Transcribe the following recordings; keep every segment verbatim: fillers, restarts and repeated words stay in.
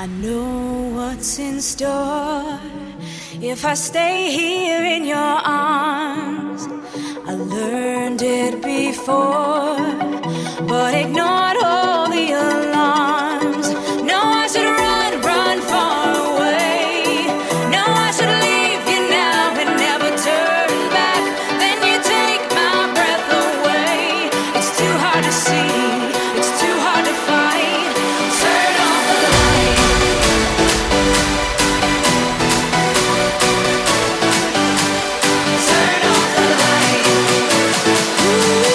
I know what's in store if I stay here in your arms. I learned it before, but ignored all the alarms. No, I should run, run far away. No, I should leave you now and never turn back. Then you take my breath away. It's too hard to see, it's too hard to fight. Turn off the light. Turn off the light. Ooh.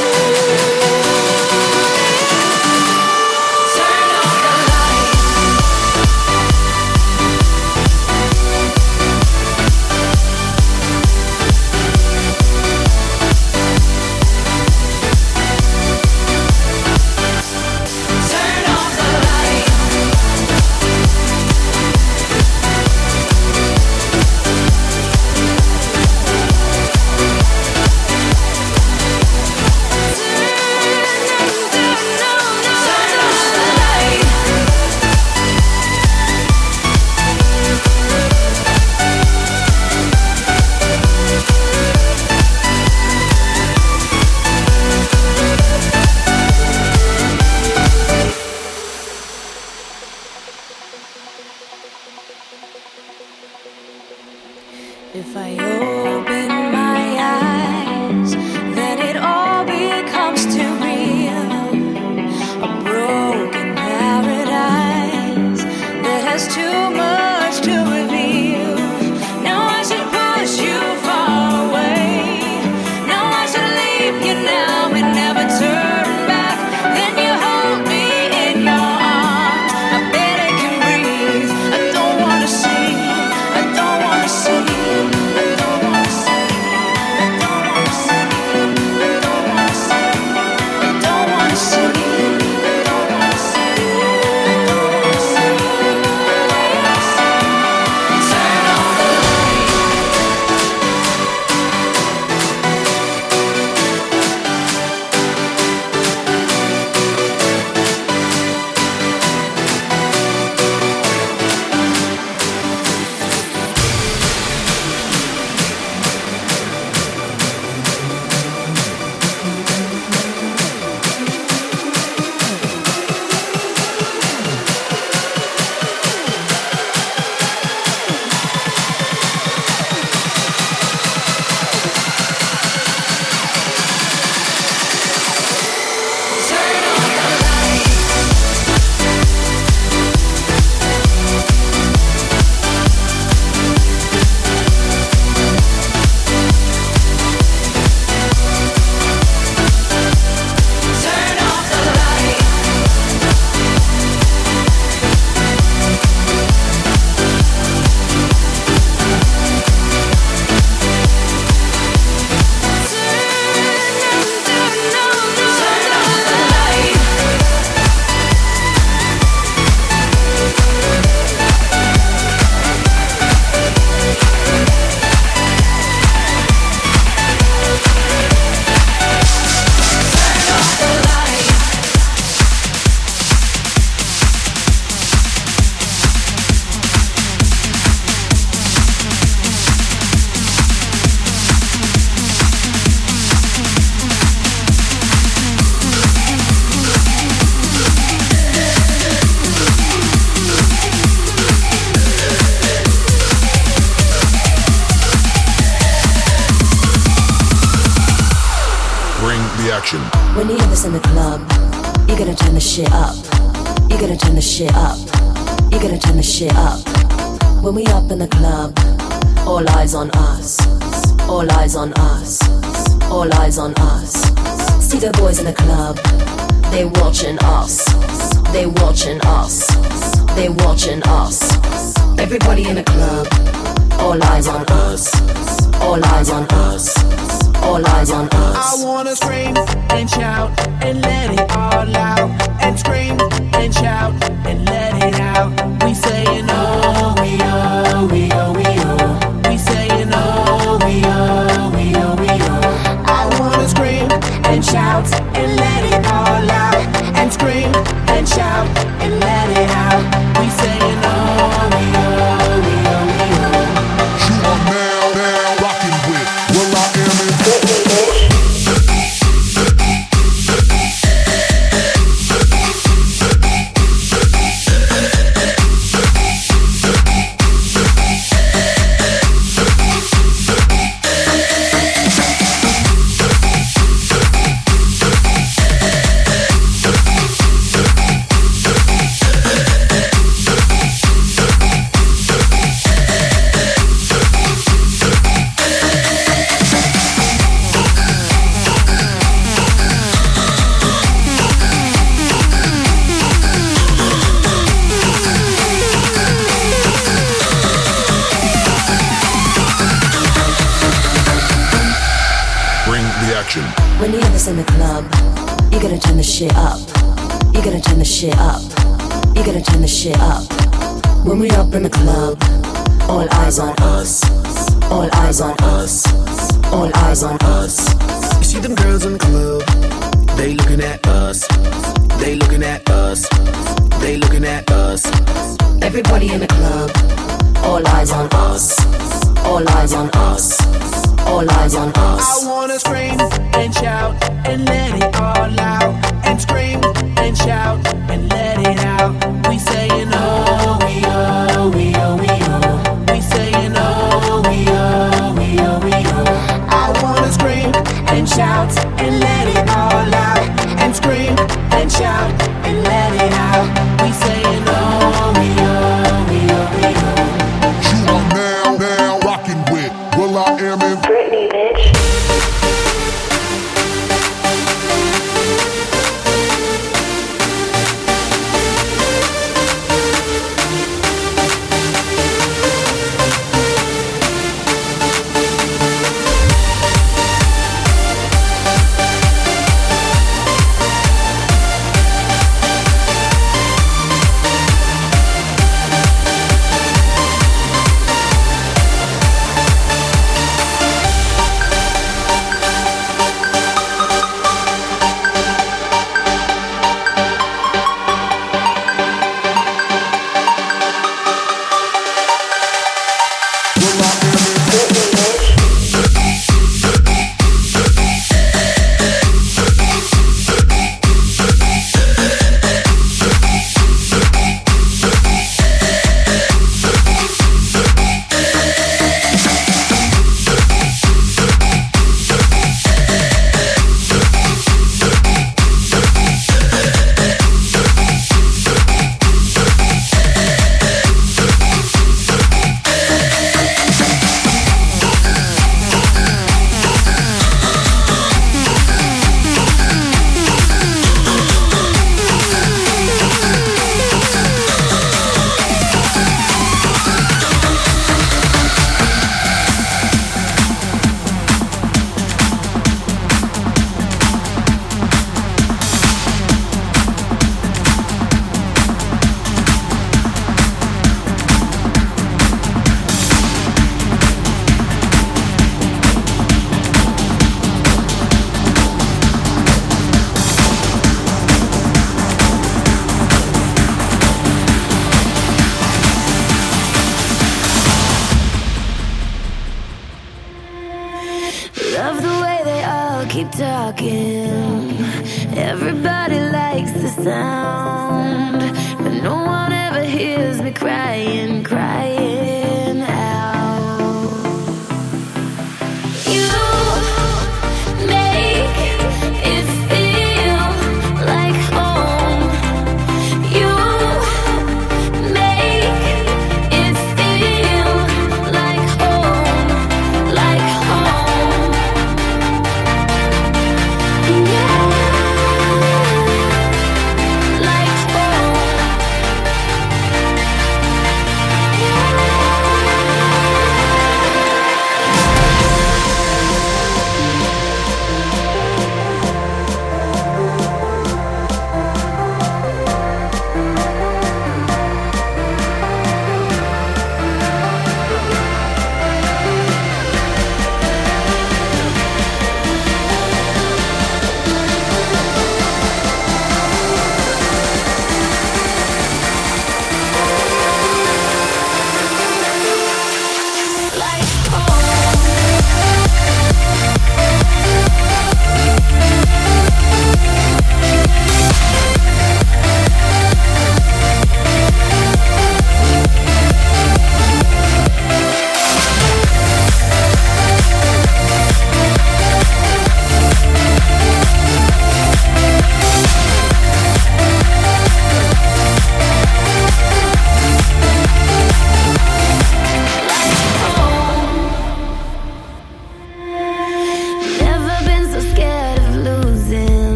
Turn off the light. Turn off the light. Turn off the light. If I open my eyes, then it all becomes too real. A broken paradise that has too much to reveal. No, I should push you far away. No, I should leave you now and never turn back. Then you hold me in your arms. I barely can breathe. I don't wanna see. I don't wanna see. I don't wanna see. I don't wanna see. I don't wanna see. I don't wanna see. I don't wanna see. I don't wanna see. Turn off the light. Turn off the light. Turn off the light. Turn off the light. Turn off the light. Bring the action. When you hear this in the club, you gotta turn the shit up. You gotta turn the shit up. You gotta turn the shit up. When we up in the club, all eyes on us. All eyes on us. All eyes on us. See the boys in the club, they watching us. They watching us. They watching us. Everybody in the club, all eyes on us. All eyes on us. All eyes on us. I wanna scream and shout and let it all out. And scream and shout and let it out. We saying oh, we oh, we oh, we oh. We saying oh, we oh, we oh, we oh. I wanna scream and shout and let it all out. And scream and shout and let it out. We saying us in the club, you gotta turn the shit up. You gotta turn the shit up. You gotta turn the shit up. When we up in the club, all eyes on us. All eyes on us. All eyes on us. You see them girls in the club, they looking at us. They looking at us. They looking at us. Everybody in the club, all eyes on us. All eyes on us. All eyes on us. I wanna scream and shout and let it all out. And scream and shout and let it out. We saying oh, we oh, we oh, we oh. We saying oh, we oh, we oh, we oh. I wanna scream and shout and let it all out. And scream and shout and let it out. We saying oh, we oh, we oh, we oh. You are now, now rocking with Will I Am in Britney, bitch. Love the way they all keep talking. Everybody likes the sound, but no one ever hears me crying, crying out. You make it feel like home. You make it feel like home, like home. Yeah, like home.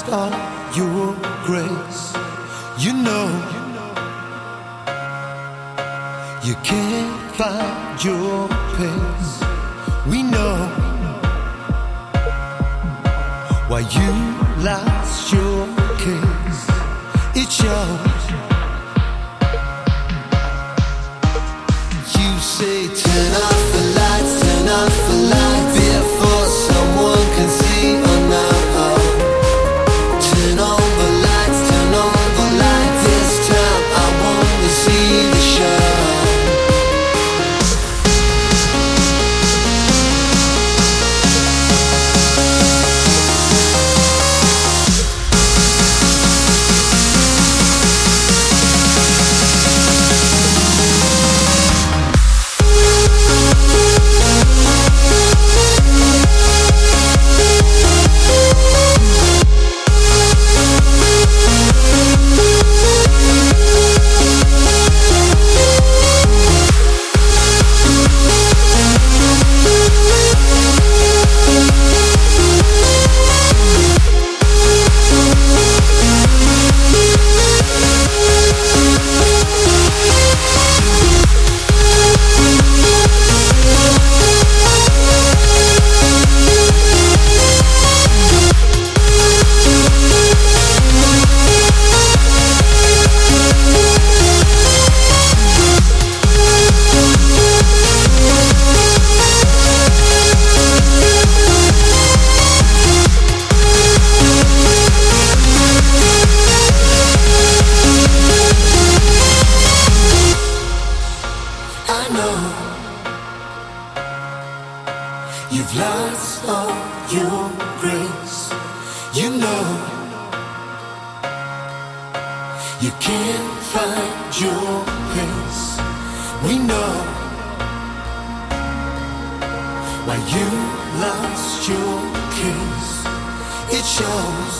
lost all your grace. You know you can't find your pace. We know why you lost your case. It shows. You say turn off the lights, turn off the lights before someone can see or not. Turn on the lights, turn on the lights. This time I want to see the show. You've lost all your grace. You know you can't find your place. We know why you lost your case. It shows.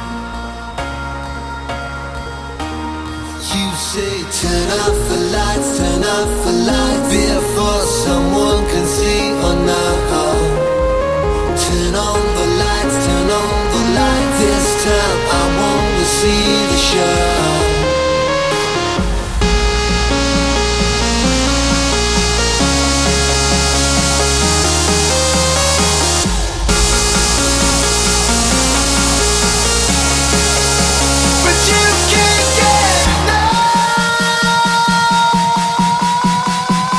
You say turn off the lights, turn off the lights before someone can see or not. Turn on the lights, turn on the lights. This time I want to see the show. But you can't get enough.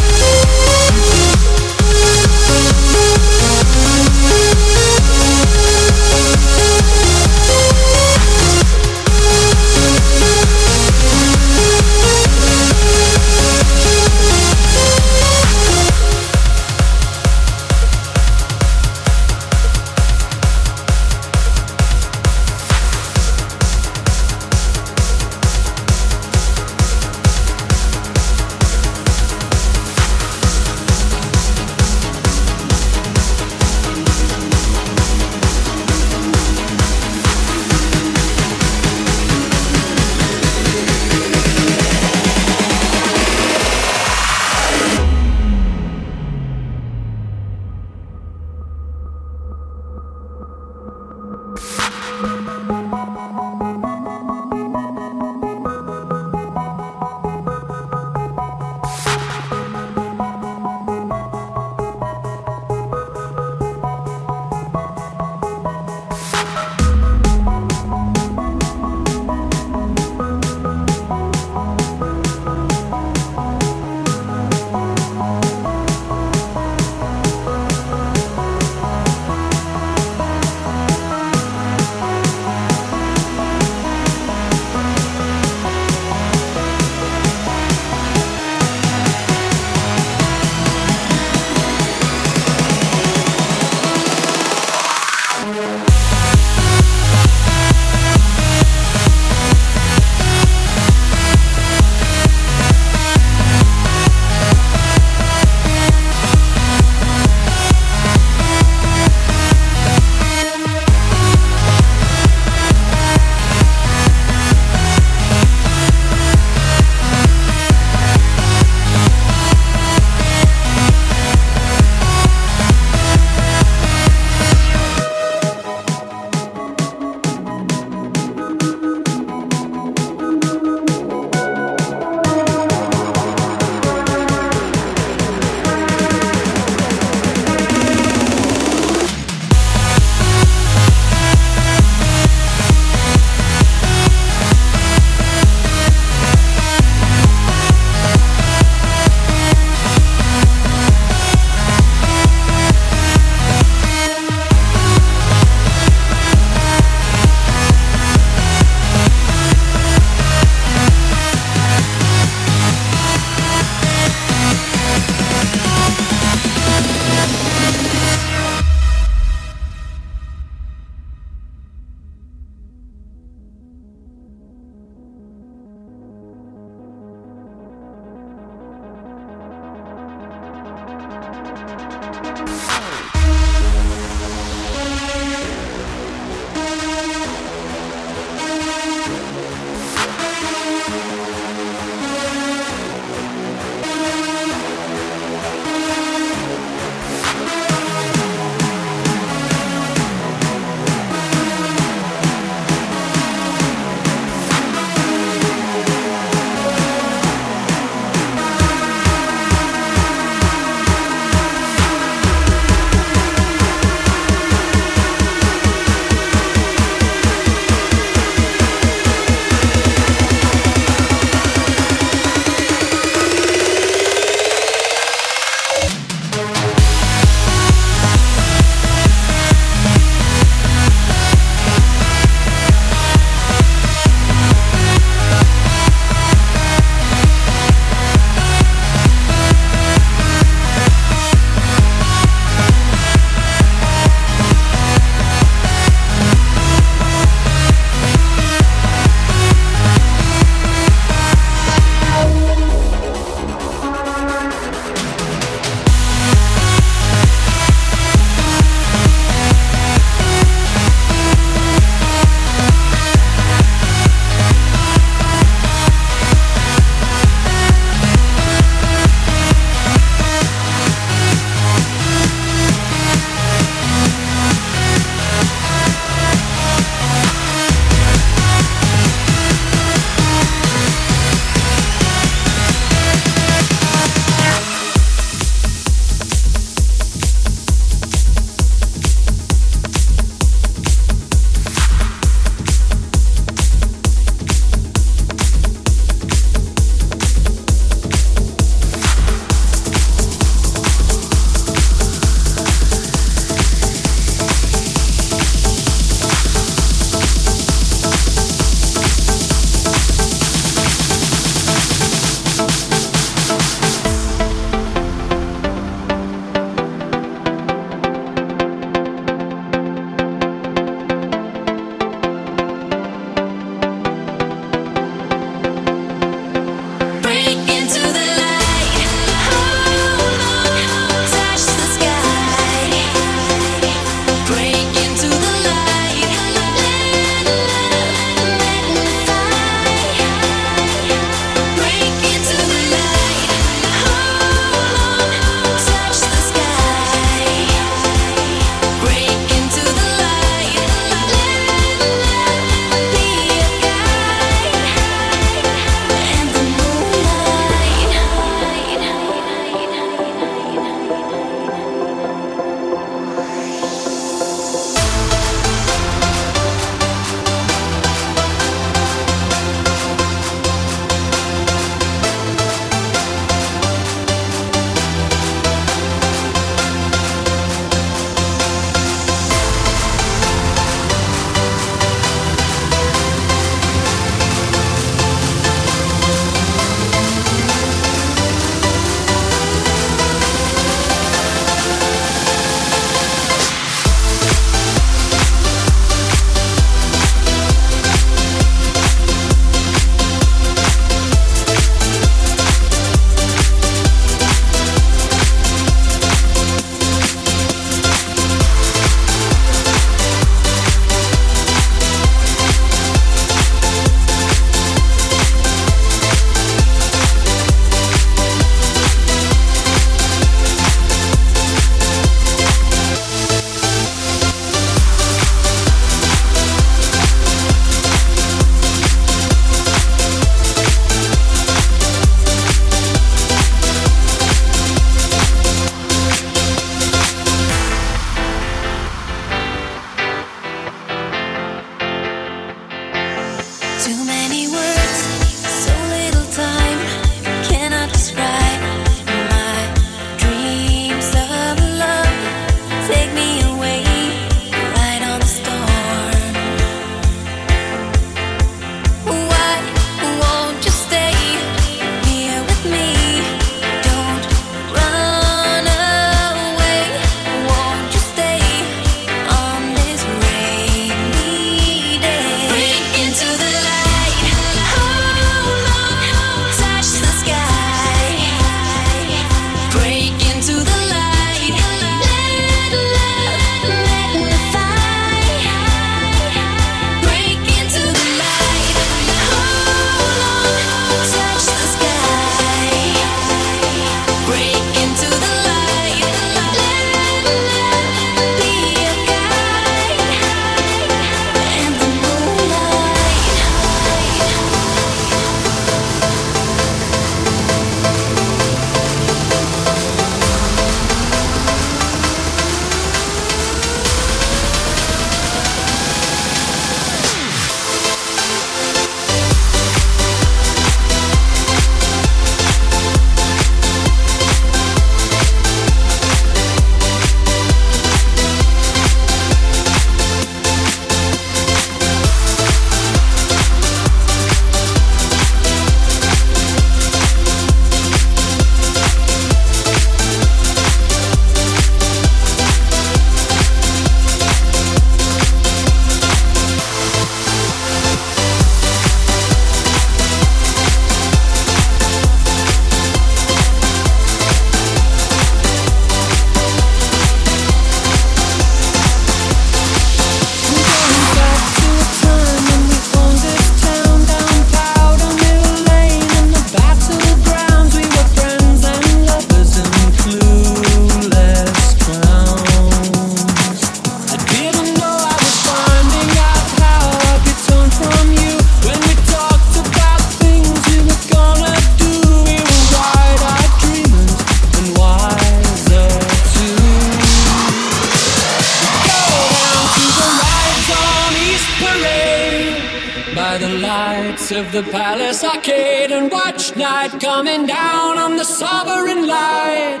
the lights of the Palace Arcade and watch night coming down on the Sovereign Light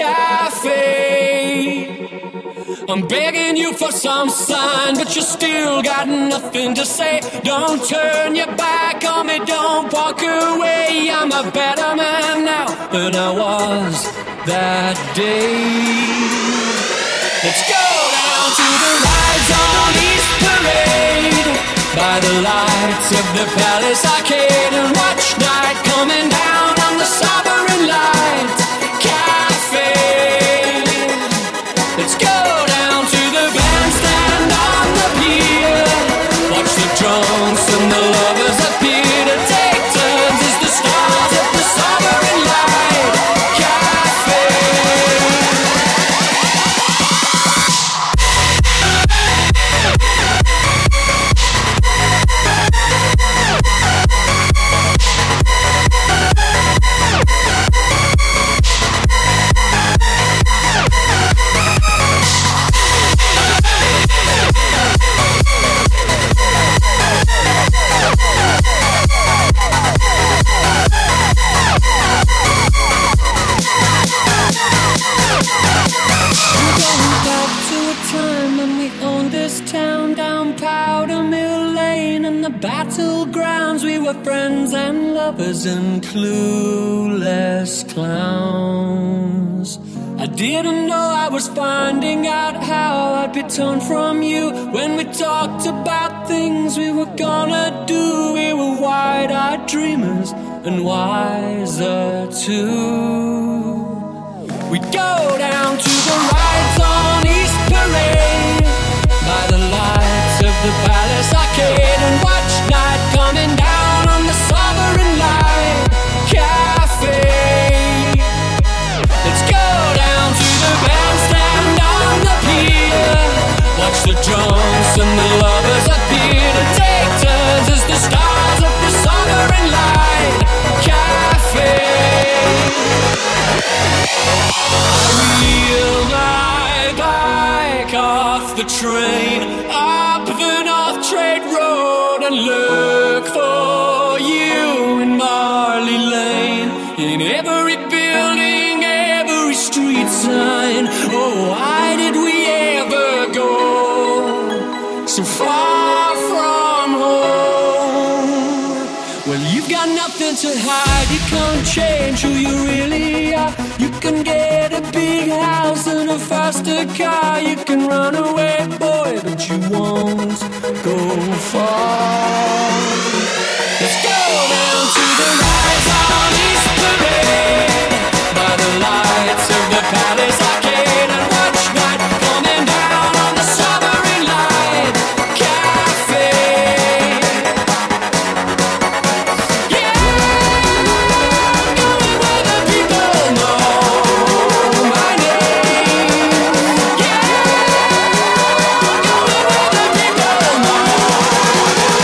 Cafe. I'm begging you for some sign, but you still got nothing to say. Don't turn your back on me, don't walk away. I'm a better man now than I was that day. Let's go down to the rides on East Parade, by the lights of the Palace Arcade, and watch night coming down on the Sovereign Light Cafe. Let's go down to the bandstand on the pier, watch the drunks and the lovers appear to take turns as the stars of the Sovereign Light Cafe. Battlegrounds, we were friends and lovers and clueless clowns. I didn't know I was finding out how I'd be torn from you when we talked about things we were gonna do. We were wide-eyed dreamers and wiser too. We'd go down to the rides on East Parade, by the lights of the Palace Arcade, and watch night coming down on the Sovereign Light Cafe. Let's go down to the bandstand on the pier, watch the drums and the lovers appear to take turns as the stars of the Sovereign Light Cafe. I wheel my bike off the train, up the North Trade Road, and look for you in Marley Lane, in every building, every street sign. Oh, why did we ever go so far from home? Well, you've got nothing to hide, you can't change who you really are. You can get a big house and a faster car, you can run away, boy, but you won't go far. Let's go down to the rides on East Parade, by the lights of the Palace Arcade, and watch night coming down on the Sovereign Light Cafe. Yeah, going where the people know my name. Yeah, going where the people know.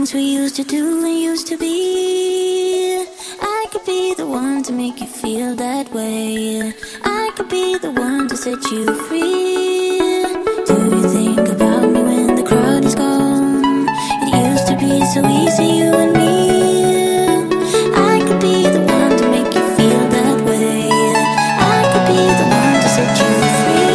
things we used to do and used to be. I could be the one to make you feel that way. I could be the one to set you free. Do you think about me when the crowd is gone? It used to be so easy, you and me. I could be the one to make you feel that way. I could be the one to set you free.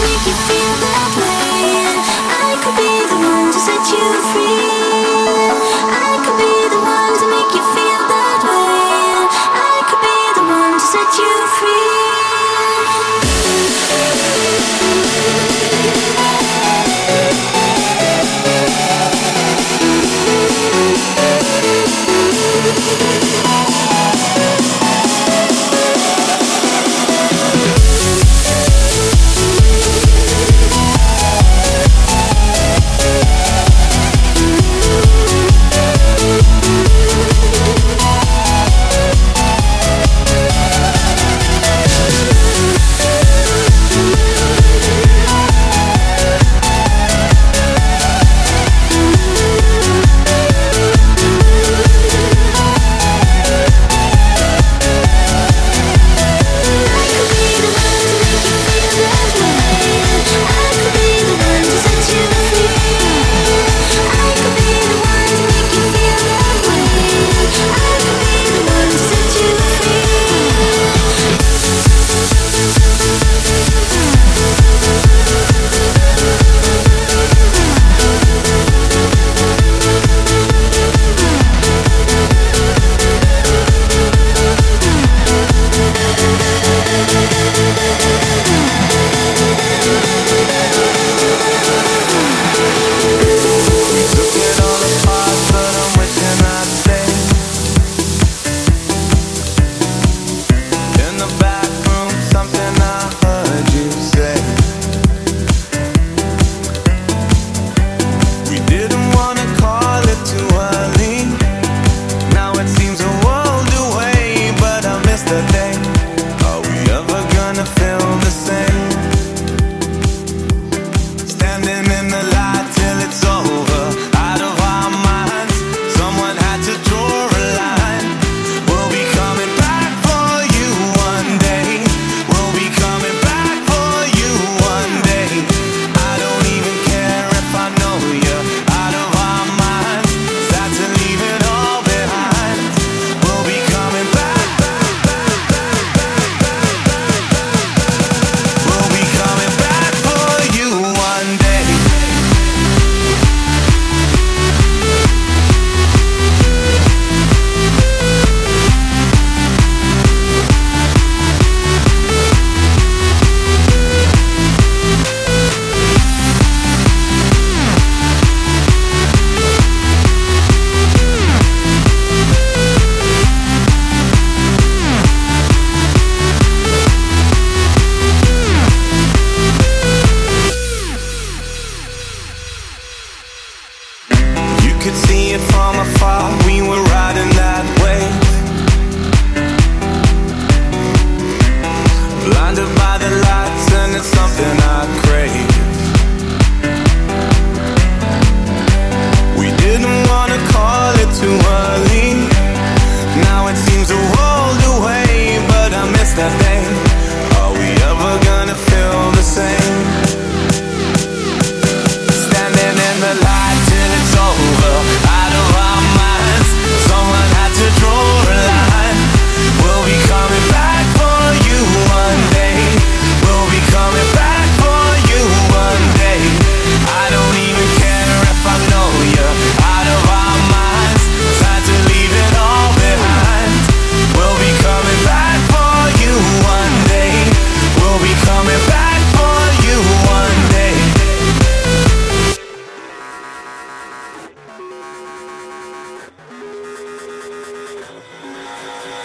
Set you free.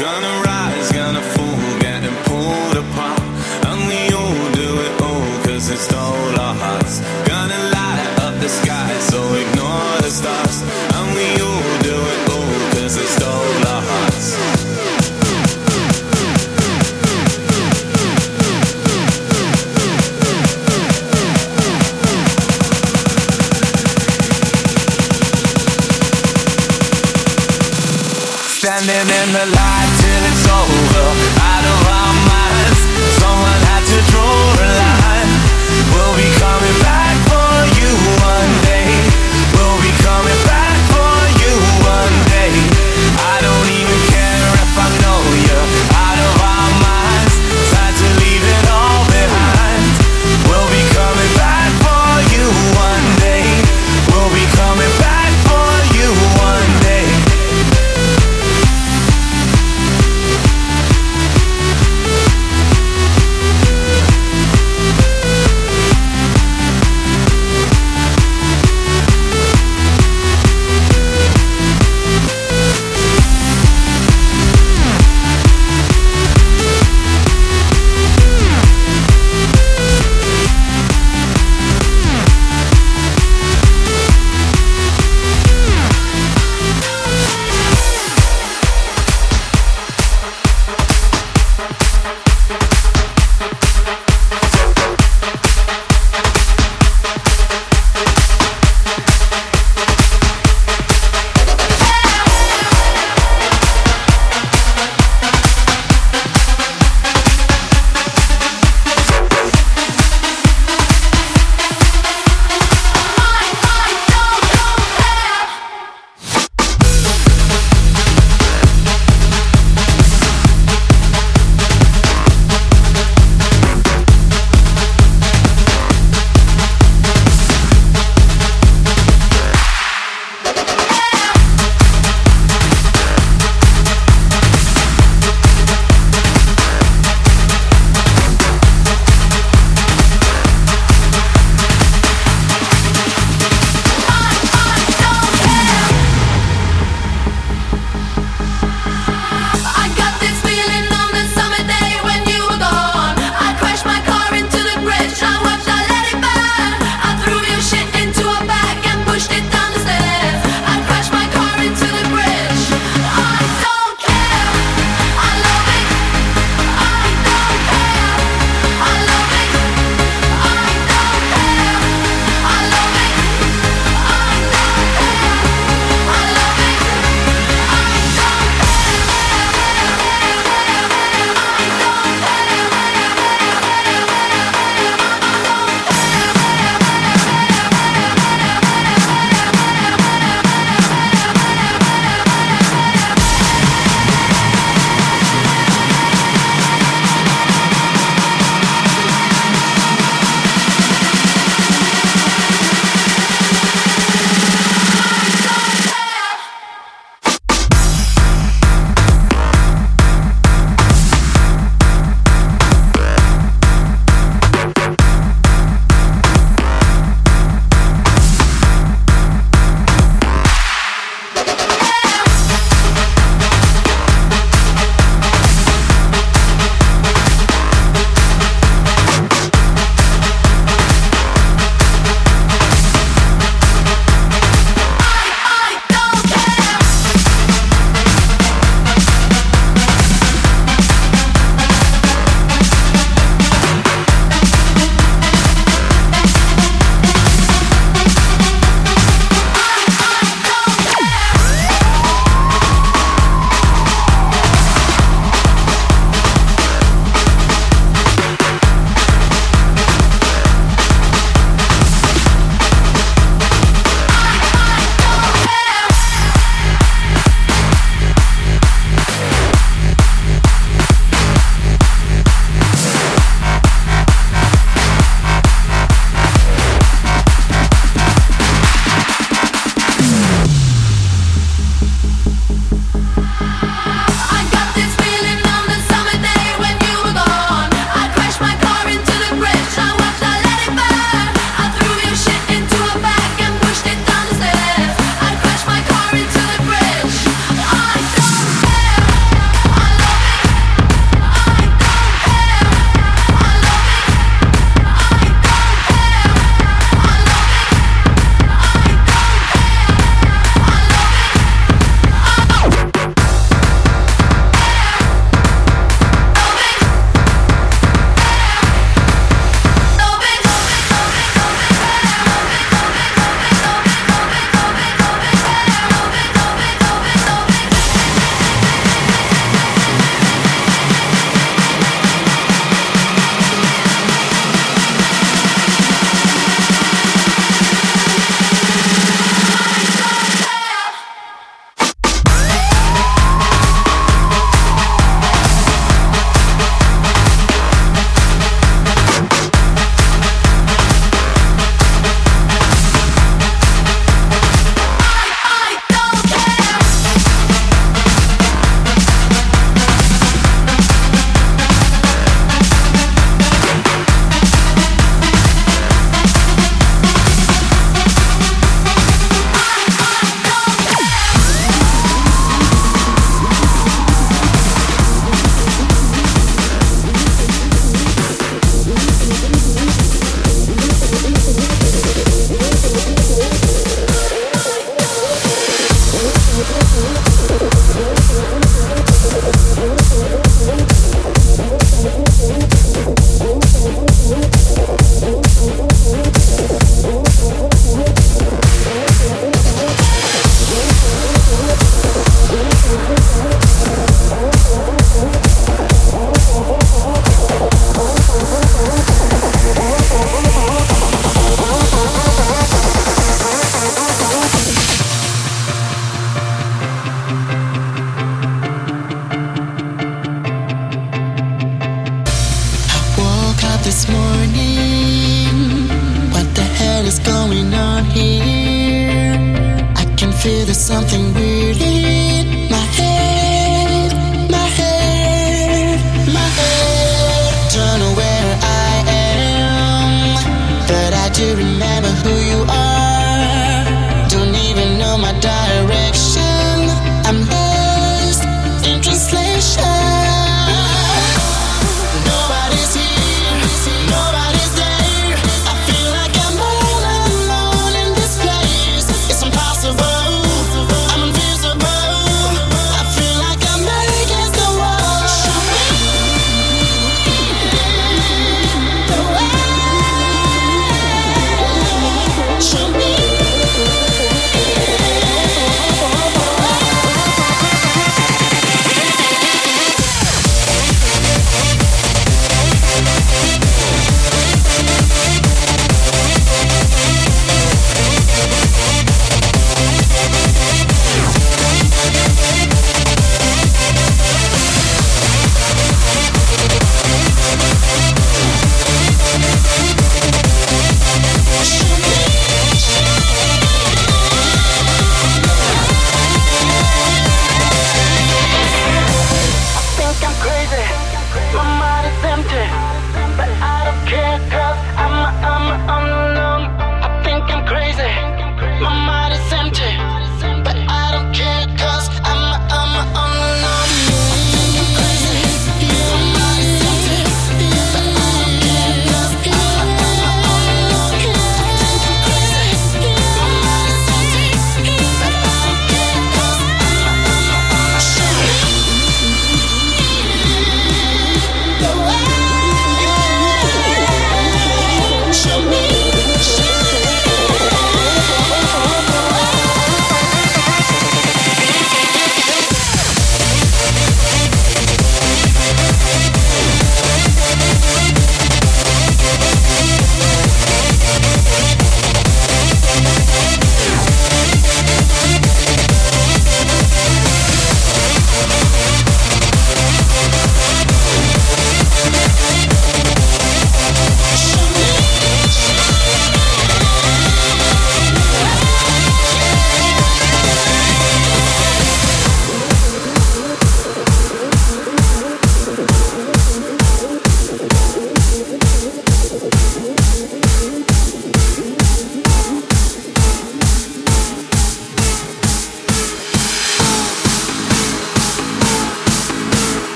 Gonna rise, gonna fall, getting pulled apart. And we all do it all, cause it stole our hearts. Gonna light up the sky, so ignore the stars. And we all do it all, cause it stole our hearts. Standing in the light till it's over, out of our minds. Someone had to draw a line.